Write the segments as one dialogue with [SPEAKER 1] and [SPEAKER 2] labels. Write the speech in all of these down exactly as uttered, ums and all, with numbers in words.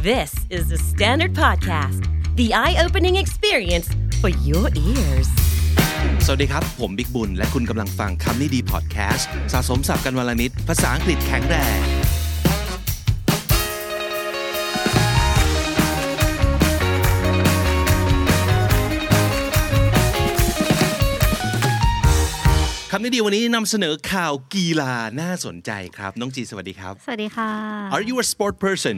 [SPEAKER 1] This is the Standard Podcast, the eye-opening experience for your ears.
[SPEAKER 2] สวัสดีครับผมบิ๊กบุญและคุณกำลังฟังคำนี้ดีพอดแคสต์สะสมศัพท์กันวันละนิดภาษาอังกฤษแข็งแรงคำนี้ดีวันนี้นำเสนอข่าวกีฬาน่าสนใจครับน้องจีสวัสดีครับ
[SPEAKER 3] สวัสดีค่ะ
[SPEAKER 2] Are you a sport person?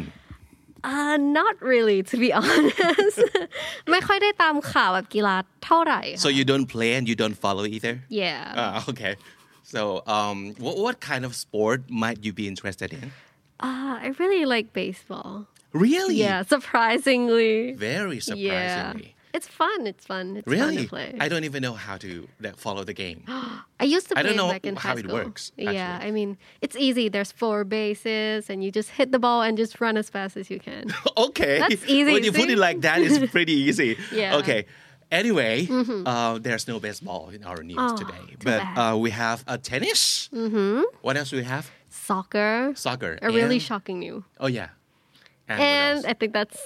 [SPEAKER 3] Uh, not really, to be honest. ไม่ค่อยได้ตามข่าวแบบกีฬาเท่าไหร่ค่ะ
[SPEAKER 2] So you don't play and you don't follow either?
[SPEAKER 3] Yeah.
[SPEAKER 2] Uh, okay. So um, what, what kind of sport might you be interested in?
[SPEAKER 3] Uh, I really like baseball.
[SPEAKER 2] Really?
[SPEAKER 3] Yeah, surprisingly.
[SPEAKER 2] Very surprisingly.
[SPEAKER 3] Yeah.It's fun. It's fun. It's
[SPEAKER 2] really?
[SPEAKER 3] fun to play.
[SPEAKER 2] I don't even know how to like, follow the game.
[SPEAKER 3] I used to play
[SPEAKER 2] I don't know
[SPEAKER 3] back in
[SPEAKER 2] how
[SPEAKER 3] high
[SPEAKER 2] it
[SPEAKER 3] school.
[SPEAKER 2] works. Actually.
[SPEAKER 3] Yeah, I mean, it's easy. There's four bases, and you just hit the ball and just run as fast as you can.
[SPEAKER 2] Okay.
[SPEAKER 3] That's easy.
[SPEAKER 2] When you put it like that, it's pretty easy.
[SPEAKER 3] Yeah.
[SPEAKER 2] Okay. Anyway, mm-hmm. uh, there's no baseball in our news
[SPEAKER 3] oh,
[SPEAKER 2] today, but uh, we have a tennis.
[SPEAKER 3] Mm-hmm.
[SPEAKER 2] What else do we have?
[SPEAKER 3] Soccer.
[SPEAKER 2] Soccer.
[SPEAKER 3] A
[SPEAKER 2] and...
[SPEAKER 3] really shocking news.
[SPEAKER 2] Oh yeah.
[SPEAKER 3] And, and I think that's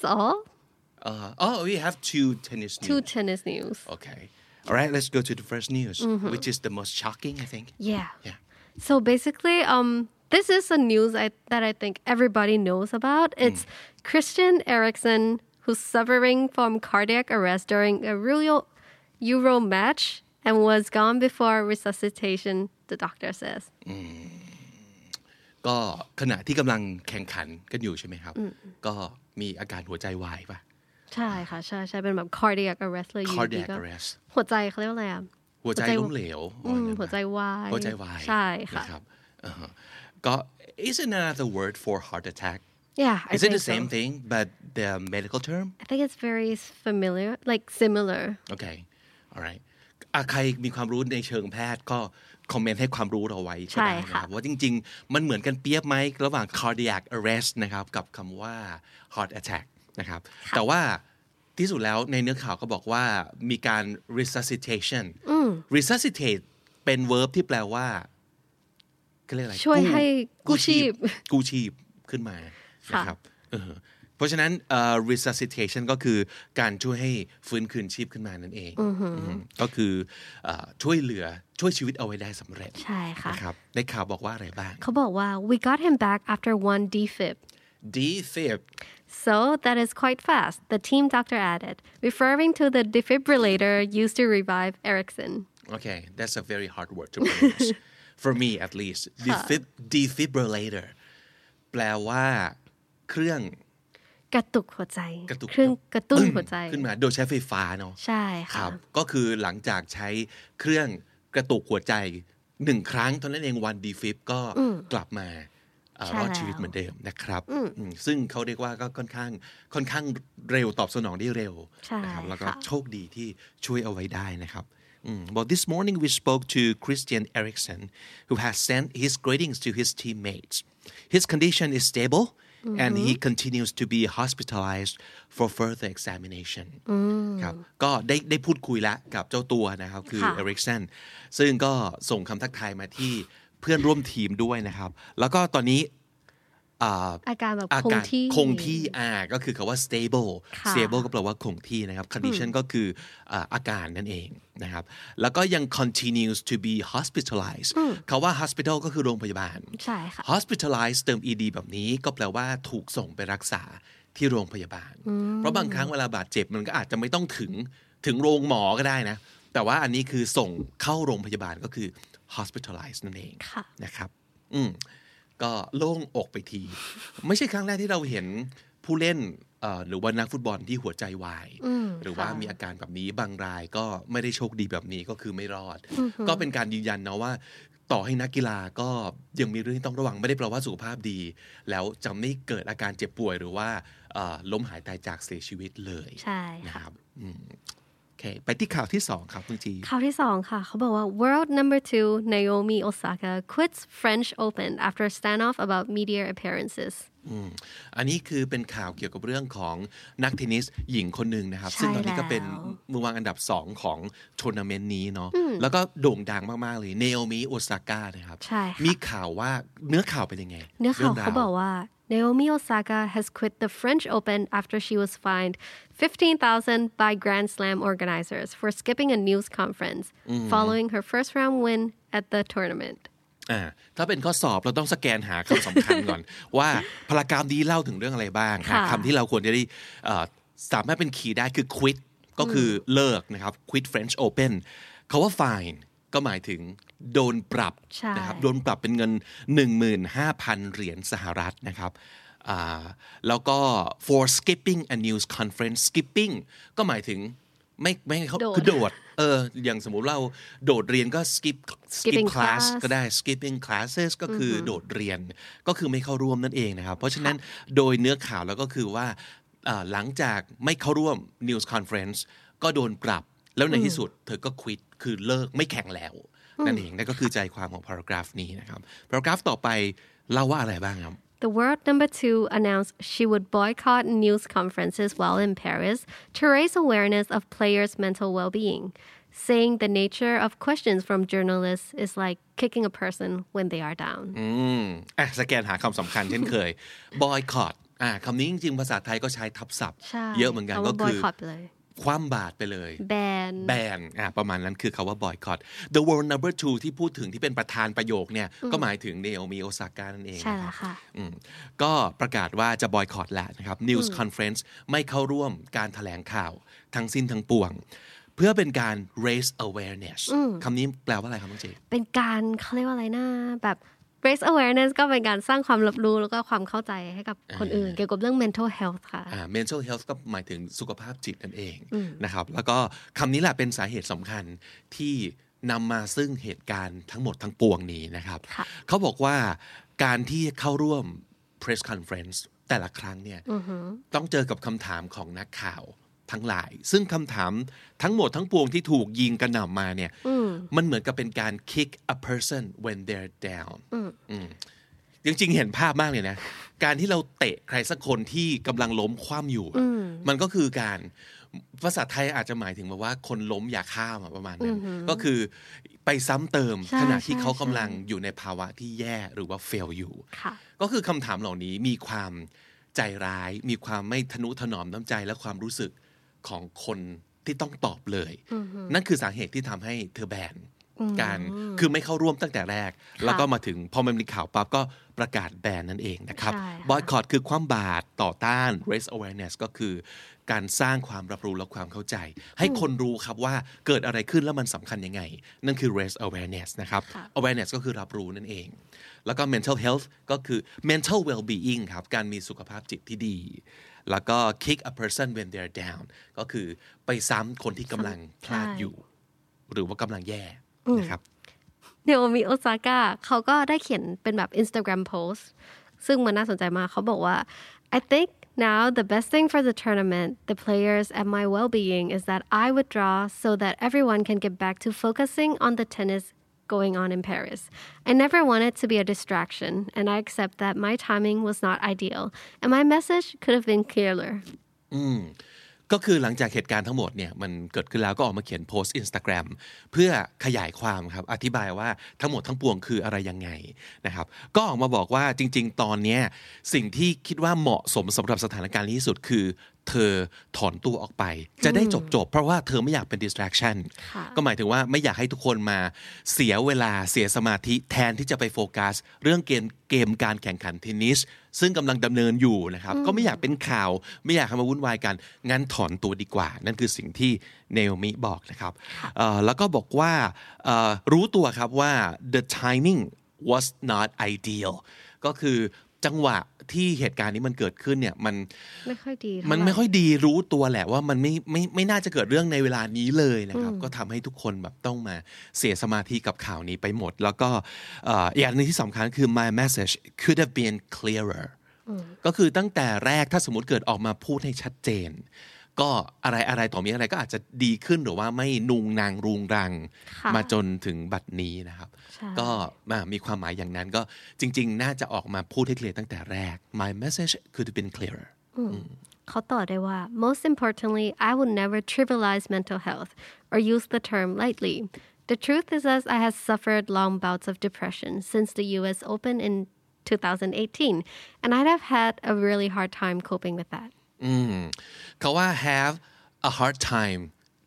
[SPEAKER 3] all.Uh,
[SPEAKER 2] oh, we have two tennis news.
[SPEAKER 3] Two tennis news.
[SPEAKER 2] Okay. All right, let's go to the first news, mm-hmm. which is the most shocking, I think.
[SPEAKER 3] Yeah.
[SPEAKER 2] Yeah.
[SPEAKER 3] So basically, um, this is a news I, that I think everybody knows about. It's mm. Christian Eriksen, who's suffering from cardiac arrest during a Euro, Euro match and was gone before resuscitation, the doctor says.
[SPEAKER 2] Mm. ก็ขณะที่กำลังแข่งขันกันอยู่ใช่ไหมครับก็มีอาการหัวใจวายป่ะ
[SPEAKER 3] ใช่ค่ะใช่ใช่เป็นแบบ cardiac arrest เลยอยู่ดีก็
[SPEAKER 2] cardiac arrest
[SPEAKER 3] หัวใจเขาเรียกว่าอะไรอ่ะ
[SPEAKER 2] หัวใจล้มเหลว
[SPEAKER 3] หัวใจวาย
[SPEAKER 2] หัวใจวาย
[SPEAKER 3] ใช่ค่ะ
[SPEAKER 2] นะครับก็ isn't another word for heart attack
[SPEAKER 3] yeah I
[SPEAKER 2] is it the same
[SPEAKER 3] so.
[SPEAKER 2] thing but the medical term
[SPEAKER 3] I think it's very familiar like similar
[SPEAKER 2] okay alright ใครมีความรู้ในเชิงแพทย์ก็คอมเมนต์ให้ความรู้เราไว้ก็ได้นะครับว่าจริงๆมันเหมือนกันเปียบไหมระหว่าง cardiac arrest นะครับกับคำว่า heart attack นะครับแต่ว่าที่สุดแล้วในเนื้อข่าวก็บอกว่ามีการ resuscitation resuscitate เป็น verb ที่แปลว่าเขาเรียกอะไร
[SPEAKER 3] ช่วยให้กู้ชีพ
[SPEAKER 2] กู้ชีพขึ้นมานะครับเพราะฉะนั้น uh, resuscitation ก็คือการช่วยให้ฟื้นคืนชีพขึ้นมานั่นเองก็คือ uh, ช่วยเหลือช่วยชีวิตเอาไว้ได้สำเร็จ
[SPEAKER 3] ใช่ค่ะ
[SPEAKER 2] นะครับในข่าวบอกว่าอะไรบ้าง
[SPEAKER 3] เขาบอกว่า we got him back after one defib
[SPEAKER 2] defib
[SPEAKER 3] so that is quite fast the team doctor added referring to the defibrillator used to revive Eriksen
[SPEAKER 2] okay that's a very hard word to pronounce for me at least Defib defibrillator แปลว่าเครื่อง
[SPEAKER 3] กระตุกหัวใจเครื่องกระตุ้นหัวใจ
[SPEAKER 2] ขึ้นมาโดยใช้ไฟฟ้าเนาะ
[SPEAKER 3] ใช่ค่ะ
[SPEAKER 2] ก็คือหลังจากใช้เครื่องกระตุกหัวใจหนึ่งครั้งเท่านั้นเองวันดีฟิปก็กลับมารอดชีวิตเหมือนเดิมนะครับซึ่งเขาเรียกว่าก็ค่อนข้างค่อนข้างเร็วตอบสนองได้เร็วนะครับแล้วก็โชคดีที่ช่วยเอาไว้ได้นะครับBut this morning we spoke to Christian Eriksen who has sent his greetings to his teammates. His condition is stable.Mm-hmm. And he continues to be hospitalized for further examination ครับก็ได้ได้พูดคุยแล้วกับเจ้าตัวนะครับคือเอริกเซนซึ่งก็ส่งคำทักทายมาที่เพื่อนร่วมทีมด้วยนะครับแล้วก็ตอนนี้
[SPEAKER 3] อาการแบบคงที่
[SPEAKER 2] คงที่อ่าก็คือคำว่า stable stable ก็แปลว่าคงที่นะครับ condition ก็คืออาการนั่นเองนะครับแล้วก็ยัง continues to be hospitalized คำว่า hospital ก็คือโรงพยาบาล
[SPEAKER 3] ใช่ค่ะ
[SPEAKER 2] hospitalized เติม ed แบบนี้ก็แปลว่าถูกส่งไปรักษาที่โรงพยาบาลเพราะบางครั้งเวลาบาดเจ็บมันก็อาจจะไม่ต้องถึงถึงโรงหมอก็ได้นะแต่ว่าอันนี้คือส่งเข้าโรงพยาบาลก็คือ hospitalized นั่นเองนะครับอืมก็โล่งอกไปทีไม่ใช่ครั้งแรกที่เราเห็นผู้เล่นหรือว่านักฟุตบอลที่หัวใจวายหรือว่ามีอาการแบบนี้บางรายก็ไม่ได้โชคดีแบบนี้ก็คือไม่รอดก็เป็นการยืนยันนะว่าต่อให้นักกีฬาก็ยังมีเรื่องที่ต้องระวังไม่ได้แปลว่าสุขภาพดีแล้วจะไม่เกิดอาการเจ็บป่วยหรือว่าล้มหายตายจากเสียชีวิตเลย
[SPEAKER 3] ใช่
[SPEAKER 2] นะครับโอเคไปที่ข่าวที่สองครับคุณจี
[SPEAKER 3] ข่าวที่สองค่ะเขาบอกว่า World number two Naomi Osaka quits French Open after standoff about media appearances
[SPEAKER 2] อันนี้คือเป็นข่าวเกี่ยวกับเรื่องของนักเทนนิสหญิงคนหนึ่งนะครับซึ่งตอนนี้ก็เป็นมือวางอันดับสองของทัวร์นาเมนต์นี้เนาะแล้วก็โด่งดังมากๆเลยเนโอมิโอซาก้านะครับมีข่าวว่าเนื้อข่าวเป็นยังไง
[SPEAKER 3] เนื้อข่าวเขาบอกว่า Naomi Osaka has quit the French Open after she was fined fifteen thousand dollars by Grand Slam organizers for skipping a news conference following her first round win at the tournament
[SPEAKER 2] อ่าถ้าเป็นข้อสอบเราต้องสแกนหาคำสำคัญก่อน ว่าพารากราฟนี้เล่าถึงเรื่องอะไรบ้างคำที่เราควรจะได้สามารถเป็นคีย์ได้คือ quit ก็คือเลิกนะครับ quit French Open คำว่า fine ก็หมายถึงโดนปรับนะครับโดนปรับเป็นเงิน หนึ่งหมื่นห้าพัน เหรียญสหรัฐนะครับแล้วก็ for skipping a news conference skipping ก็หมายถึงไม่ไม่เขาคือโดดเอออย่างสมมุติเราโดดเรียนก็ skip skip class ก็ได้ skipping classes ก็คือโดดเรียนก็คือไม่เข้าร่วมนั่นเองนะครับเพราะฉะนั้นโดยเนื้อข่าวแล้วก็คือว่าหลังจากไม่เข้าร่วม news conference ก็โดนปรับแล้วในที่สุดเธอก็ quit คือเลิกไม่แข่งแล้วนั่นเองนั่นก็คือใจความของ paragraph นี้นะครับ paragraph ต่อไปเล่าว่าอะไรบ้างครับ
[SPEAKER 3] The world number two announced she would boycott news conferences while in Paris to raise awareness of players' mental well-being, saying the nature of questions from journalists is like kicking a person when they are down.
[SPEAKER 2] อืมอ่ะสแกนหาคำสำคัญเช่นเคย boycott อ่ะคำนี้จริงๆภาษาไทยก็ใช้ทับศัพท์เยอะเหมือนกันก็คือคว่ำบาตรไปเลย
[SPEAKER 3] แบน
[SPEAKER 2] แบนอ่ะประมาณนั้นคือคาว่า boycott the world number two ที่พูดถึงที่เป็นประธานประโยคเนี่ยก็หมายถึงเนโอมิโอซาก้านั่นเอง
[SPEAKER 3] ใช่แล้วค่ะ
[SPEAKER 2] ก็ประกาศว่าจะ boycott แล้วนะครับ news conference ไม่เข้าร่วมการแถลงข่าวทั้งสิ้นทั้งปวงเพื่อเป็นการ raise awareness คำนี้แปลว่าอะไรครับน้องเจ
[SPEAKER 3] เป็นการเขาเรียกว่าอะไรนะแบบraise awareness ก็เป็นการสร้างความรับรู้แล้วก็ความเข้าใจให้กับคนอื่นเกี่ยวกับเรื่อง mental health ค่ะ
[SPEAKER 2] mental health ก็หมายถึงสุขภาพจิตนั่นเองนะครับแล้วก็คำนี้แหละเป็นสาเหตุสำคัญที่นำมาซึ่งเหตุการณ์ทั้งหมดทั้งปวงนี้นะครับเขาบอกว่าการที่เข้าร่วม press conference แต่ละครั้งเนี่ยต้องเจอกับคำถามของนักข่าวทั้งหลายซึ่งคำถามทั้งหมดทั้งปวงที่ถูกยิงกระหน่ำมาเนี่ยมันเหมือนกับเป็นการ kick a person when they're down จริงๆเห็นภาพมากเลยนะการที่เราเตะใครสักคนที่กำลังล้มคว่ำอยู่มันก็คือการภาษาไทยอาจจะหมายถึงว่าคนล้มอย่าข้ามประมาณนั้นก็คือไปซ้ำเติมขณะที่เขากำลังอยู่ในภาวะที่แย่หรือว่า fail อยู่ก็คือคำถามเหล่านี้มีความใจร้ายมีความไม่ทนุถนอมน้ำใจและความรู้สึกของคนที่ต้องตอบเลยนั่นคือสาเหตุที่ทำให้เธอแบนการคือไม่เข้าร่วมตั้งแต่แรกแล้วก็มาถึงพอมันมีข่าวปั๊บก็ประกาศแบนนั่นเองนะครับ boycott คือความบาดต่อต้าน raise awareness ก็คือการสร้างความรับรู้และความเข้าใจให้คนรู้ครับว่าเกิดอะไรขึ้นแล้วมันสำคัญยังไงนั่นคือ raise awareness นะครับ awareness ก็คือรับรู้นั่นเองแล้วก็ mental health ก็คือ mental well-being ครับการมีสุขภาพจิตที่ดีแล้วก็ kick a person when they're down ก็คือไปซ้ำคนที่กำลังพลาดอยู่หรือว่ากำลังแย่นะครับ
[SPEAKER 3] เนโอมิโอซาก้าเขาก็ได้เขียนเป็นแบบ Instagram post ซึ่งมันน่าสนใจมากเขาบอกว่า I think now the best thing for the tournament, the players, and my well-being is that I withdraw so that everyone can get back to focusing on the tennis going on in Paris. I never wanted to be a distraction, and I accept that my timing was not ideal, and my message could have been clearer.
[SPEAKER 2] อืมก็คือหลังจากเหตุการณ์ทั้งหมดเนี่ยมันเกิดขึ้นแล้วก็ออกมาเขียนโพสต์ Instagram เพื่อขยายความครับอธิบายว่าทั้งหมดทั้งปวงคืออะไรยังไงนะครับก็ออกมาบอกว่าจริงๆตอนนี้สิ่งที่คิดว่าเหมาะสมสำหรับสถานการณ์นี้ที่สุดคือเธอถอนตัวออกไปจะได้จบๆเพราะว่าเธอไม่อยากเป็น distraction ก็หมายถึงว่าไม่อยากให้ทุกคนมาเสียเวลาเสียสมาธิแทนที่จะไปโฟกัสเรื่องเกมเกมการแข่งขันเทนนิสซึ่งกำลังดำเนินอยู่นะครับก็ไม่อยากเป็นข่าวไม่อยากให้มาวุ่นวายกันงั้นถอนตัวดีกว่านั่นคือสิ่งที่เนโอมิบอกนะครับแล้วก็บอกว่ารู้ตัวครับว่า the timing was not ideal ก็คือจังหวะที่เหตุการณ์นี้มันเกิดขึ้นเนี่ยมัน
[SPEAKER 3] ไม่ค่อยดี
[SPEAKER 2] มันไม่ค่อยดีรู้ตัวแหละว่ามันไม่ไม่ไม่น่าจะเกิดเรื่องในเวลานี้เลยนะครับก็ทำให้ทุกคนแบบต้องมาเสียสมาธิกับข่าวนี้ไปหมดแล้วก็อย่างนึงที่สำคัญคือ my message could have been clearer ก็คือตั้งแต่แรกถ้าสมมติเกิดออกมาพูดให้ชัดเจนก็อะไรอะไรต่อมีอะไรก็อาจจะดีขึ้นหรือว่าไม่นุงนางรุงรังมาจนถึงบัดนี้นะครับก็มีความหมายอย่างนั้นก็จริงๆน่าจะออกมาพูดให้เคลียร์ตั้งแต่แรก My message could have been clearer
[SPEAKER 3] เขาต่อได้ว่า Most importantly I would never trivialize mental health or use the term lightly The truth is that I have suffered long bouts of depression since the U S Open in twenty eighteen and I'd have had a really hard time coping with that
[SPEAKER 2] อืมเขาว่า have a hard time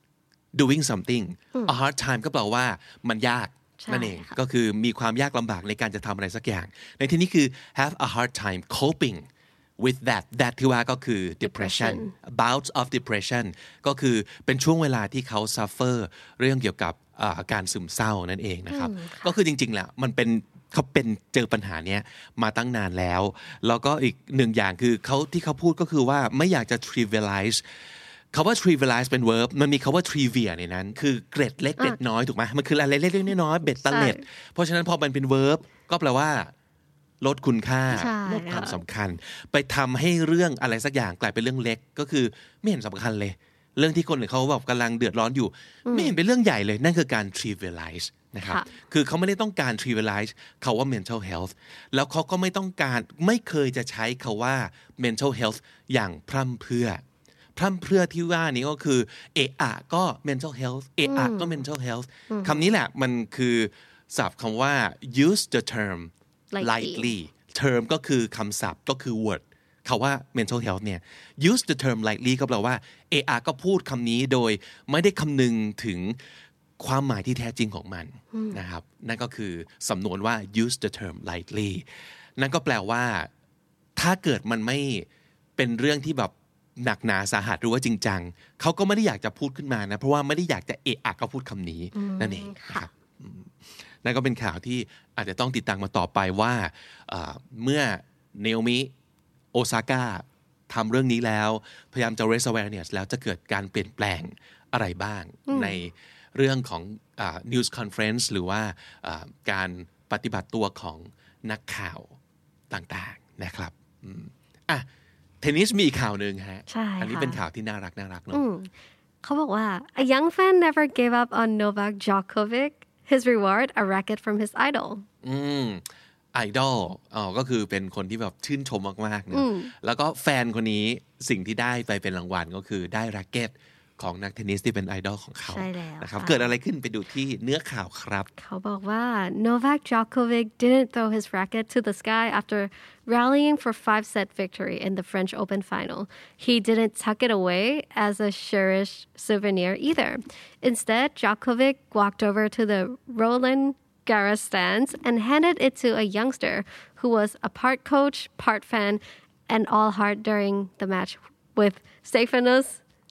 [SPEAKER 2] doing something a hard time ก็แปลว่ามันยากนั่นเองก็คือมีความยากลำบากในการจะทำอะไรสักอย่างในที่นี้คือ have a hard time coping with that that ที่ว่าก็คือ depression bouts of depression ก็คือเป็นช่วงเวลาที่เขา suffer เรื่องเกี่ยวกับการซึมเศร้านั่นเองนะครับก็คือจริงๆแหละมันเป็นเขาเป็นเจอปัญหาเนี้ยมาตั้งนานแล้วแล้วก็อีกหนึ่งอย่างคือเขาที่เขาพูดก็คือว่าไม่อยากจะ trivialize คำว่า trivialize เป็น verb มันมีคำว่า trivia ในนั้นคือเกร็ดเล็กเกร็ดน้อยถูกไหมมันคืออะไรเล็กๆน้อยๆเบ็ดเตล็ดเพราะฉะนั้นพอมันเป็น verb ก็แปลว่าลดคุณค่าลดความสำคัญไปทำให้เรื่องอะไรสักอย่างกลายเป็นเรื่องเล็กก็คือไม่เห็นสำคัญเลยเรื่องที่คนอื่นเขาแบบกำลังเดือดร้อนอยู่ไม่เห็นเป็นเรื่องใหญ่เลยนั่นคือการ trivialize นะครับคือเขาไม่ได้ต้องการ trivialize คำว่า mental health แล้วเขาก็ไม่ต้องการไม่เคยจะใช้คำว่า mental health อย่างพร่ำเพรื่อพร่ำเพรื่อที่ว่านี้ก็คือเอะอะก็ mental health เอะอะก็ mental health คำนี้แหละมันคือศัพท์คำว่า use the term lightly term ก็คือคำศัพท์ก็คือ word คำว่า mental health เนี่ย use the term lightly ก็แปลว่าเอะอะก็พูดคำนี้โดยไม่ได้คำนึงถึงความหมายที่แท้จริงของมันนะครับนั่นก็คือสำนวนว่า use the term lightly นั่นก็แปลว่าถ้าเกิดมันไม่เป็นเรื่องที่แบบหนักหนาสาหัสหรือว่าจริงจังเขาก็ไม่ได้อยากจะพูดขึ้นมานะเพราะว่าไม่ได้อยากจะเอะอะก็พูดคำนี้นั่นเองนะครับนั่นก็เป็นข่าวที่อาจจะต้องติดตามมาต่อไปว่าเมื่อเนโอมิโอซาก้าทำเรื่องนี้แล้วพยายามจะ raise awareness แล้วจะเกิดการเปลี่ยนแปลงอะไรบ้างในเรื่องของ news conference หรือว่าการปฏิบัติตัวของนักข่าวต่างๆนะครับอ่ะเทนนิสมีอีกข่าวหนึ่งฮะอันนี้เป็นข่าวที่น่ารักน่ารักเนาะ
[SPEAKER 3] เขาบอกว่า a young fan never gave up on Novak Djokovic his reward a racket from his idol
[SPEAKER 2] อืมไอดอลอ๋อก็คือเป็นคนที่แบบชื่นชมมากๆนะแล้วก็แฟนคนนี้สิ่งที่ได้ไปเป็นรางวัลก็คือได้แร็คเก็ตของนักเทนนิสที่เป็นไอดอลของเขานะครับเกิดอะไรขึ้นไปดูที่เนื้อข่าวครับ
[SPEAKER 3] เขาบอกว่า Novak Djokovic didn't throw his racket to the sky after rallying for five-set victory in the French Open final. He didn't tuck it away as a cherished souvenir either. Instead, Djokovic walked over to the Roland Garros stands and handed it to a youngster who was a part coach, part fan, and all heart during the match with Stefanos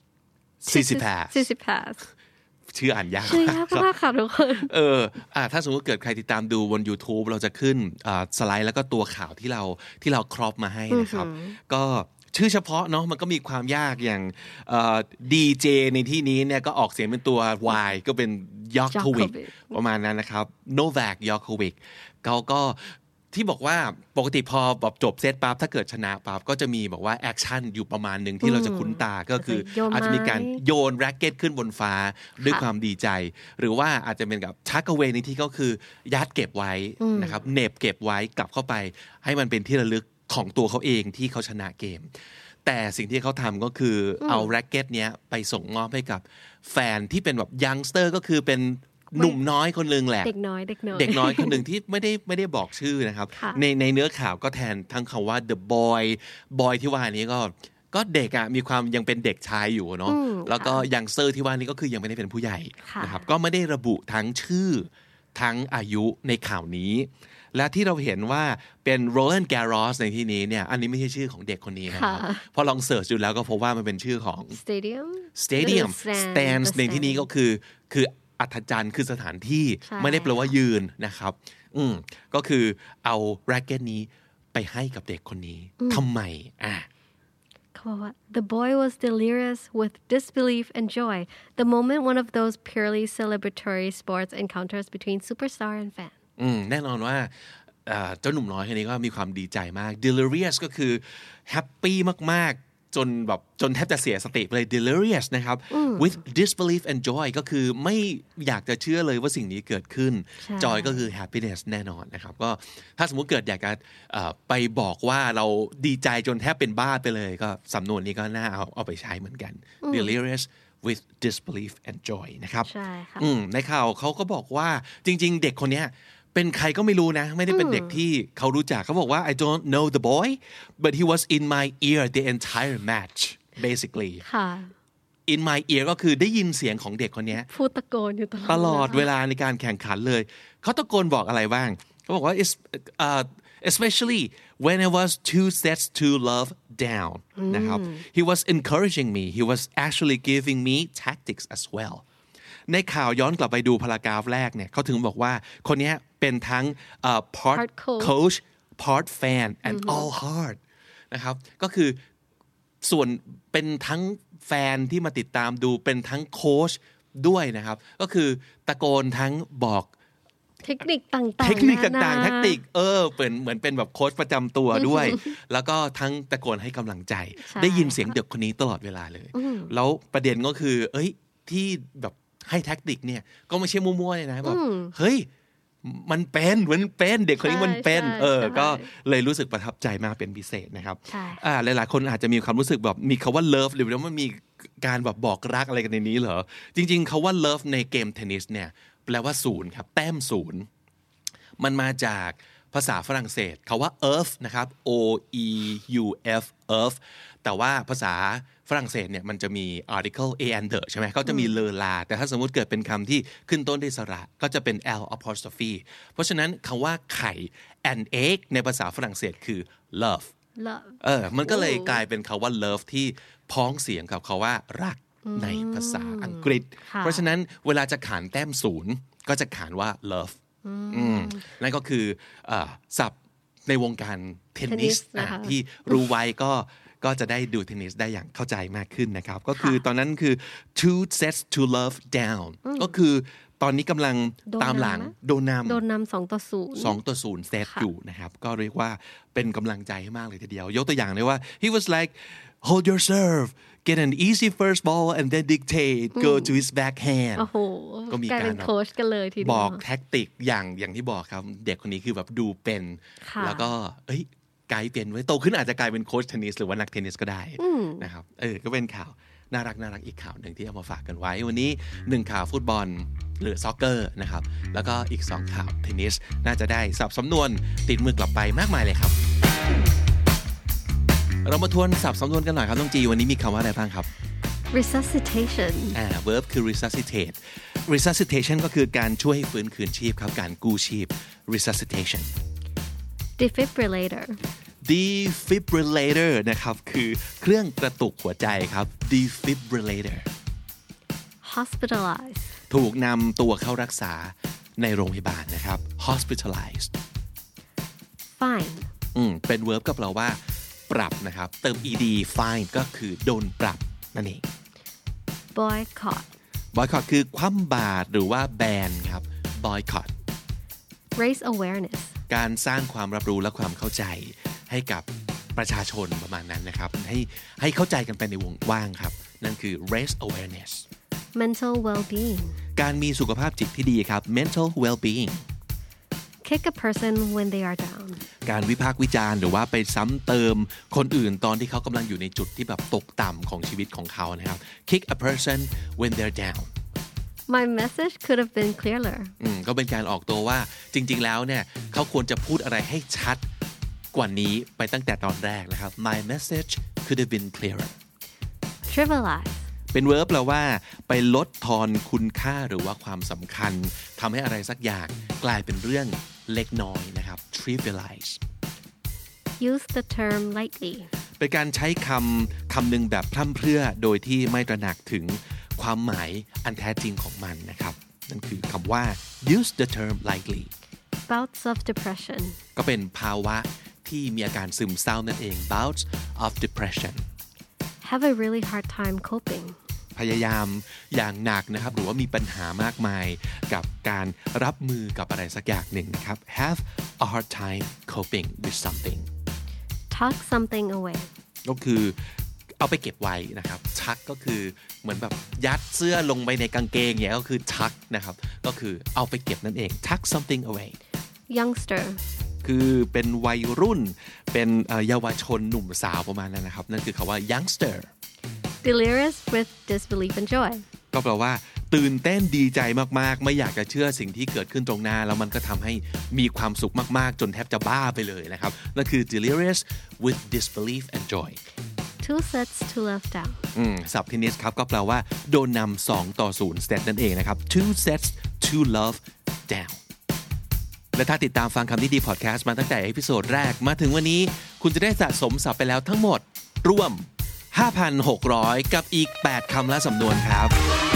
[SPEAKER 2] Tsitsipas
[SPEAKER 3] Tsitsipas
[SPEAKER 2] ชื่ออ่านยาก
[SPEAKER 3] ชื่อยากมากค่ะทุกคน
[SPEAKER 2] เอออ่าถ้าสมมติเกิดใครติดตามดูบน YouTube เราจะขึ้นอ่าสไลด์แล้วก็ตัวข่าวที่เราที่เราครอปมาให้นะครับก็ชื่อเฉพาะเนาะมันก็มีความยากอย่างดีเจในที่นี้เนี่ยก็ออกเสียงเป็นตัว Y ก็เป็น Djokovic ประมาณนั้นนะครับ Novak Djokovic เขาก็ที่บอกว่าปกติพอแบบจบเซตปั๊บถ้าเกิดชนะปั๊บก็จะมีบอกว่าแอคชั่นอยู่ประมาณหนึ่งที่เราจะคุ้นตาก็คืออาจจะมีการโยนแร็คเก็ตขึ้นบนฟ้าด้วยความดีใจหรือว่าอาจจะเป็นกับชักเอาไว้ในที่ก็คือยัดเก็บไว้นะครับเน็บเก็บไว้กลับเข้าไปให้มันเป็นที่ระลึกของตัวเขาเองที่เขาชนะเกมแต่สิ่งที่เขาทำก็คือเอาแร็คเก็ตเนี้ยไปส่งมอบให้กับแฟนที่เป็นแบบยังสเตอร์ก็คือเป็นหนุ่มน้อยคนนึงแหละ
[SPEAKER 3] เด็กน้อยเด็กน้อย
[SPEAKER 2] เด็กน้อยคนหนึ่งที่ไม่ได้ไม่ได้บอกชื่อนะครับในในเนื้อข่าวก็แทนทั้งคำว่า the boy boy ที่ว่านี้ก็ก็เด็กอ่ะมีความยังเป็นเด็กชายอยู่เนาะแล้วก็ยังเซอร์ที่ว่านี้ก็คือยังไม่ได้เป็นผู้ใหญ่นะครับก็ไม่ได้ระบุทั้งชื่อทั้งอายุในข่าวนี้และที่เราเห็นว่าเป็น Roland Garros ในที่นี้เนี่ยอันนี้ไม่ใช่ชื่อของเด็กคนนี้นะครับพอลองเสิร์ชดูแล้วก็พบว่ามันเป็นชื่อของ
[SPEAKER 3] Stadium
[SPEAKER 2] Stadium Stands ในที่นี้ก็คือคืออัธจันทร์คือสถานที่ไม่ได้แปลว่ายืนนะครับอืมก็คือเอาแร็คเก็ตนี้ไปให้กับเด็กคนนี้ทำไมอ่ะ
[SPEAKER 3] เขาบอกว่า The boy was delirious with disbelief and joy the moment one of those purely celebratory sports encounters between superstar and fan
[SPEAKER 2] อืมแน่นอนว่าเจ้าหนุ่มน้อยคนนี้ก็มีความดีใจมาก delirious ก็คือแฮปปี้มากๆจนแบบจนแทบจะเสียสติไปเลย delirious นะครับ with disbelief and joy ก็คือไม่อยากจะเชื่อเลยว่าสิ่งนี้เกิดขึ้น joy ก็คือ happiness แน่นอนนะครับก็ถ้าสมมุติเกิดอยากจะไปบอกว่าเราดีใจจนแทบเป็นบ้าไปเลยก็สำนวนนี้ก็น่าเอาเอาไปใช้เหมือนกัน delirious with disbelief and joy นะครับ
[SPEAKER 3] ใช่ค่ะ
[SPEAKER 2] ในข่าวเขาก็บอกว่าจริงๆเด็กคนนี้เป็นใครก็ไม่รู้นะไม่ได้เป็นเด็กที่เขารู้จักเขาบอกว่า I don't know the boy but he was in my ear the entire match basically
[SPEAKER 3] ค่ะ
[SPEAKER 2] in my ear ก็คือได้ยินเสียงของเด็กคนนี้
[SPEAKER 3] พูดตะโกนอยู่ตลอด
[SPEAKER 2] ตลอดเวลาในการแข่งขันเลยเขาตะโกนบอกอะไรบ้างเขาบอกว่า uh, especially when I was two sets to love down นะครับ he was encouraging me he was actually giving me tactics as wellในข่าวย้อนกลับไปดูพารากราฟแรกเนี่ยเขาถึงบอกว่าคนนี้เป็นทั้ง uh, part, part coach. coach part fan and all heart นะครับก็คือส่วนเป็นทั้งแฟนที่มาติดตามดูเป็นทั้งโค้ชด้วยนะครับก็คือตะโกนทั้งบอก
[SPEAKER 3] เทคนิคต่างๆ
[SPEAKER 2] เทคนิคต่างๆแทคติกเออเป็นเหมือนเป็นแบบโค้ชประจำตัวด้วยแล้วก็ทั้งตะโกนให้กำลังใจได้ยินเสียงเด็กคนนี้ตลอดเวลาเลยแล้วประเด็นก็คือเอ้ยที่แบบให้แทคติกเนี่ยก็ไม่ใช่มั่วๆเลยนะแบบเฮ้ยมันเป็นมันเป็นเด็กคนนี้มันเป็นเออก็เลยรู้สึกประทับใจมากเป็นพิเศษนะครับอ่าหลายๆคนอาจจะมีความรู้สึกแบบมีคำว่า love หรือว่ามันมีการแบบบอกรักอะไรกันในนี้เหรอจริงๆคำว่า love ในเกมเทนนิสเนี่ยแปลว่าศูนย์ครับแต้มศูนย์มันมาจากภาษาฝรั่งเศสคำว่า earth นะครับ o e u f earth แต่ว่าภาษาฝรั่งเศสเนี่ยมันจะมี article a and the ใช่ไหมเขาจะมีเลอลาแต่ถ้าสมมุติเกิดเป็นคำที่ขึ้นต้นด้วยสระก็จะเป็น l apostrophe เพราะฉะนั้นคำว่าไข่ and egg ในภาษาฝรั่งเศสคือ love
[SPEAKER 3] love
[SPEAKER 2] เออมันก็เลยกลายเป็นคำว่า love ที่พ้องเสียงกับคำว่ารักในภาษาอังกฤษเพราะฉะนั้นเวลาจะขานแต้มศูนย์ก็จะขานว่า love นั่นก็คือศัพท์ในวงการเทนนิสที่รู้ไว้ก็ก็จะได้ดูเทนนิสได้อย่างเข้าใจมากขึ้นนะครับก็คือตอนนั้นคือ two sets to love down ก็คือตอนนี้กำลังตามหลังโดนนำ
[SPEAKER 3] โดนนำสองต่อศูนย์
[SPEAKER 2] สองต่อศูนย์เซตอยู่นะครับก็เรียกว่าเป็นกำลังใจให้มากเลยทีเดียวยกตัวอย่างเลยว่า he was like hold your serve get an easy first ball and then dictate go to his backhand
[SPEAKER 3] โอ้โหก็มีการโค้ชกันเลยทีเดียว
[SPEAKER 2] บอกแท็กติกอย่างอย่างที่บอกครับเด็กคนนี้คือแบบดูเป็นแล้วก็เอ้ยกลายเป็นไว้โตขึ้นอาจจะกลายเป็นโค้ชเทนนิสหรือว่านักเทนนิสก็ได้นะครับเออก็เป็นข่าวน่ารักน่ารักอีกข่าวหนึ่งที่เอามาฝากกันไว้วันนี้หนึ่งข่าวฟุตบอลหรือซ็อกเกอร์นะครับแล้วก็อีกสองข่าวเทนนิสน่าจะได้ศัพท์สำนวนติดมือกลับไปมากมายเลยครับเรามาทวนศัพท์สำนวนกันหน่อยครับน้องจีวันนี้มีคำว่าอะไรบ้างครับ
[SPEAKER 3] resuscitation
[SPEAKER 2] อ่า verb คือ resuscitate resuscitation ก็คือการช่วยให้ฟื้นคืนชีพครับการกู้ชีพ resuscitation
[SPEAKER 3] defibrillator
[SPEAKER 2] defibrillator นะครับคือเครื่องกระตุกหัวใจครับ defibrillator
[SPEAKER 3] hospitalize
[SPEAKER 2] ถูกนำตัวเข้ารักษาในโรงพยาบาลนะครับ hospitalized
[SPEAKER 3] fine
[SPEAKER 2] อืมเป็น verb ก็แปลว่าปรับนะครับเติม ed fine ก็คือโดนปรับนั่นเอง
[SPEAKER 3] boycott
[SPEAKER 2] boycott คือคว่ำบาตรหรือว่าแบนครับ boycott
[SPEAKER 3] raise awareness
[SPEAKER 2] การสร้างความรับรู้และความเข้าใจให้กับประชาชนประมาณนั้นนะครับให้ให้เข้าใจกันไปในวงกว้างครับนั่นคือ raise awareness
[SPEAKER 3] mental well-being
[SPEAKER 2] การมีสุขภาพจิตที่ดีครับ mental well-being
[SPEAKER 3] kick a person when they are down
[SPEAKER 2] การวิพากษ์วิจารณ์หรือว่าไปซ้ำเติมคนอื่นตอนที่เขากำลังอยู่ในจุดที่แบบตกต่ำของชีวิตของเขานะครับ kick a person when they're down
[SPEAKER 3] My message could have been clearer
[SPEAKER 2] อืมก็เป็นการออกตัวว่าจริงๆแล้วเนี่ยเขาควรจะพูดอะไรให้ชัดกว่านี้ไปตั้งแต่ตอนแรกนะครับ My message could have been clearer
[SPEAKER 3] trivialize
[SPEAKER 2] เป็น verb แปลว่าไปลดทอนคุณค่าหรือว่าความสำคัญทำให้อะไรสักอย่างกลายเป็นเรื่องเล็กน้อยนะครับ trivialize
[SPEAKER 3] use the term lightly
[SPEAKER 2] เป็นการใช้คำคำหนึ่งแบบพร่ำเพรื่อโดยที่ไม่ตระหนักถึงความหมายอันแท้จริงของมันนะครับนั่นคือคำว่า use the term lightly
[SPEAKER 3] bouts of depression
[SPEAKER 2] ก็เป็นภาวะที่มีอาการซึมเศร้านั่นเอง bouts of depression
[SPEAKER 3] have a really hard time coping
[SPEAKER 2] พยายามอย่างหนักนะครับหรือว่ามีปัญหามากมายกับการรับมือกับอะไรสักอย่างหนึ่งนะครับ have a hard time coping with something
[SPEAKER 3] tuck something away
[SPEAKER 2] ก็คือเอาไปเก็บไว้นะครับ tuck ก็คือเหมือนแบบยัดเสื้อลงไปในกางเกงอย่างเงี้ยก็คือ tuck นะครับก็คือเอาไปเก็บนั่นเอง tuck something away
[SPEAKER 3] youngster
[SPEAKER 2] คือเป็นวัยรุ่นเป็นเยาวชนหนุ่มสาวประมาณนั้นนะครับนั่นคือคำว่า youngster
[SPEAKER 3] delirious with disbelief and joy
[SPEAKER 2] ก็แปลว่าตื่นเต้นดีใจมากๆไม่อยากจะเชื่อสิ่งที่เกิดขึ้นตรงหน้าแล้วมันก็ทำให้มีความสุขมากๆจนแทบจะบ้าไปเลยนะครับนั่นคือ delirious with disbelief and joy
[SPEAKER 3] two sets to love down
[SPEAKER 2] อืมศัพท์เทนนิสครับก็แปลว่าโดนนำสองต่อศูนย์เซตนั่นเองนะครับ two sets to love down และถ้าติดตามฟังคำนี้ดีพอดแคสต์มาตั้งแต่เอพิโซดแรกมาถึงวันนี้คุณจะได้สะสมศัพท์ไปแล้วทั้งหมดรวม ห้าพันหกร้อย กับอีกแปดคำและสำนวนครับ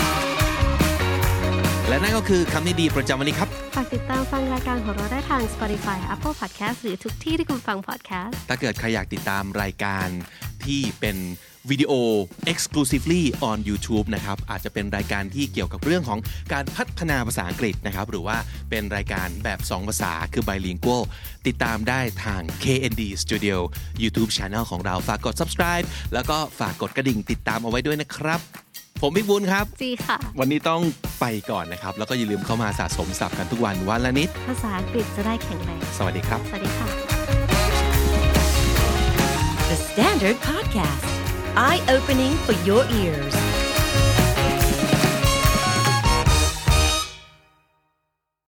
[SPEAKER 2] และนั่นก็คือคำนี้ดีประจำวันนี้ครับ
[SPEAKER 3] ฝากติดตามฟังรายการของเราได้ทาง Spotify Apple Podcast หรือทุกที่ที่คุณฟัง podcast
[SPEAKER 2] ถ้าเกิดใครอยากติดตามรายการที่เป็นวิดีโอ exclusively on YouTube นะครับอาจจะเป็นรายการที่เกี่ยวกับเรื่องของการพัฒนาภาษาอังกฤษนะครับหรือว่าเป็นรายการแบบสองภาษาคือ bilingual ติดตามได้ทาง เค เอ็น ดี Studio YouTube Channel ของเราฝากกด subscribe แล้วก็ฝากกดกระดิ่งติดตามเอาไว้ด้วยนะครับผมบิ๊กบุญครับ
[SPEAKER 3] จีค่ะ
[SPEAKER 2] วันนี้ต้องไปก่อนนะครับแล้วก็อย่าลืมเข้ามาสะสมศัพท์กันทุกวันวันละนิด
[SPEAKER 3] ภาษาอังกฤษจะได้แข็งแรง
[SPEAKER 2] สวัสดีครับ
[SPEAKER 3] สวัสดีค่ะ
[SPEAKER 1] The Standard Podcast Eye Opening for Your Ears